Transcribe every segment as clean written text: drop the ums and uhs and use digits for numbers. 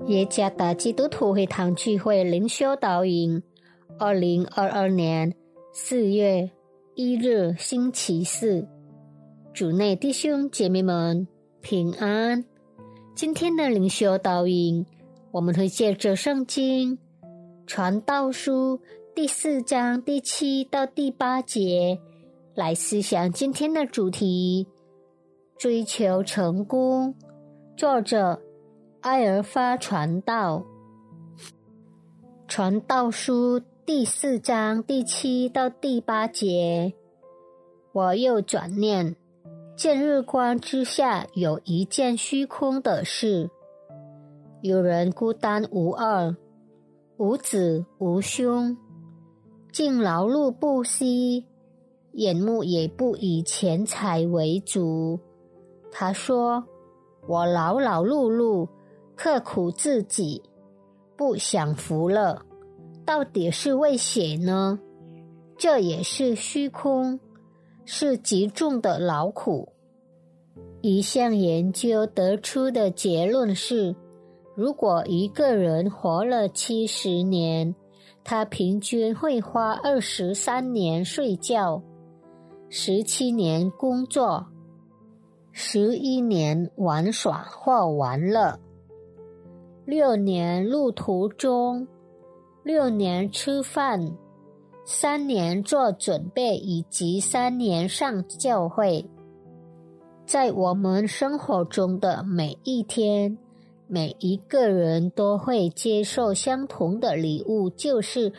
耶加达基督徒会堂聚会灵修导引2022年4月1日星期四，主内弟兄姐妹们平安。今天的灵修导引，我们会借着圣经传道书第4章第7到第8节来思想今天的主题：追求成功。作者埃尔法传道。传道书第4章第7到第8节，我又转念，见日光之下有一件虚空的事，有人孤单无二，无子无兄，竟劳碌不息，眼目也不以钱财为主。他说，我劳劳碌碌，刻苦自己，不享福乐，到底是为谁呢？这也是虚空，是极重的劳苦。一项研究得出的结论是，如果一个人活了70年，他平均会花23年睡觉，17年工作，11年玩耍或玩乐，6年路途中，6年吃饭，3年做准备，以及3年上教会。在我们生活中的每一天，每一个人都会接受相同的礼物，就是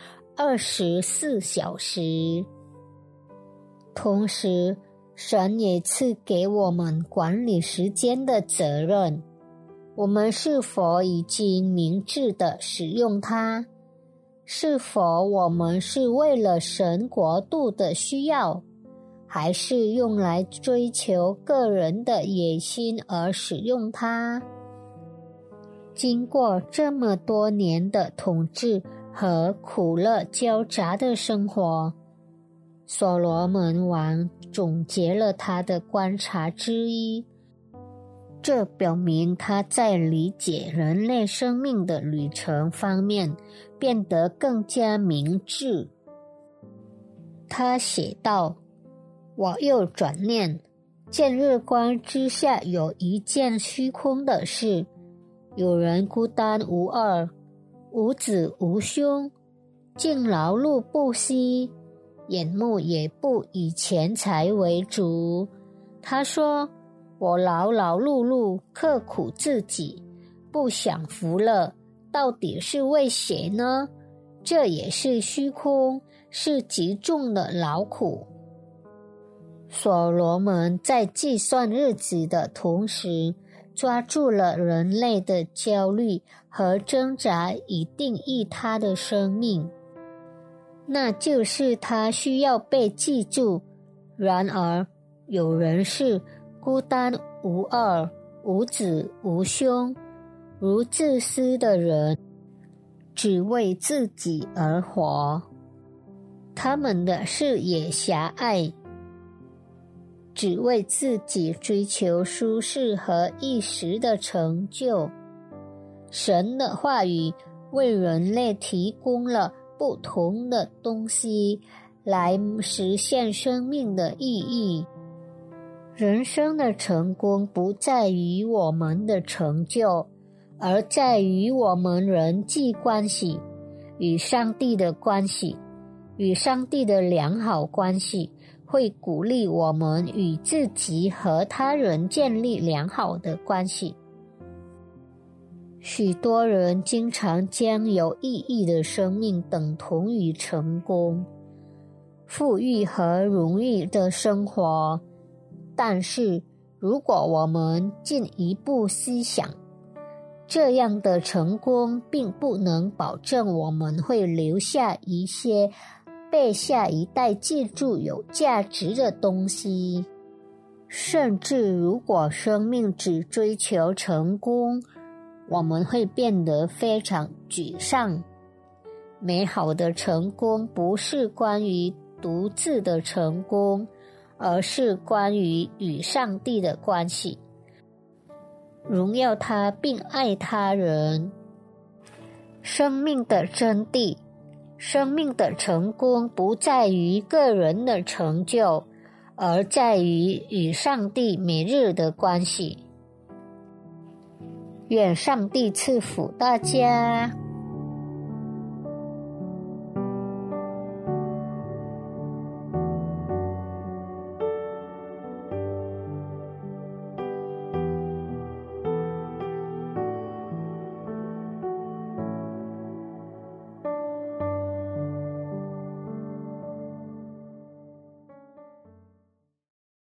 24小时。同时，神也赐给我们管理时间的责任。我们是否已经明智地使用它？是否我们是为了神国度的需要，还是用来追求个人的野心而使用它？经过这么多年的统治和苦乐交杂的生活，所罗门王总结了他的观察之一，这表明他在理解人类生命的旅程方面变得更加明智。他写道，我又转念，见日光之下有一件虚空的事，有人孤单无二，无子无兄，竟劳碌不息，眼目也不以钱财为主。他说，我劳劳碌碌，刻苦自己，不享福乐，到底是为谁呢？这也是虚空，是极重的劳苦。所罗门在计算日子的同时，抓住了人类的焦虑和挣扎，以定义他的生命，那就是他需要被记住。然而，有人是孤单无二，无子无兄，如自私的人，只为自己而活。他们的视野狭隘，只为自己追求舒适和一时的成就。神的话语为人类提供了不同的东西，来实现生命的意义。人生的成功不在于我们的成就，而在于我们人际关系，与上帝的关系，与上帝的良好关系，会鼓励我们与自己和他人建立良好的关系。许多人经常将有意义的生命等同于成功、富裕和荣誉的生活，但是如果我们进一步思想，这样的成功并不能保证我们会留下一些被下一代记住有价值的东西。甚至如果生命只追求成功，我们会变得非常沮丧。美好的成功不是关于独自的成功，而是关于与上帝的关系，荣耀他并爱他人。 生命的真谛，生命的成功不在于个人的成就，而在于与上帝每日的关系。愿上帝赐福大家。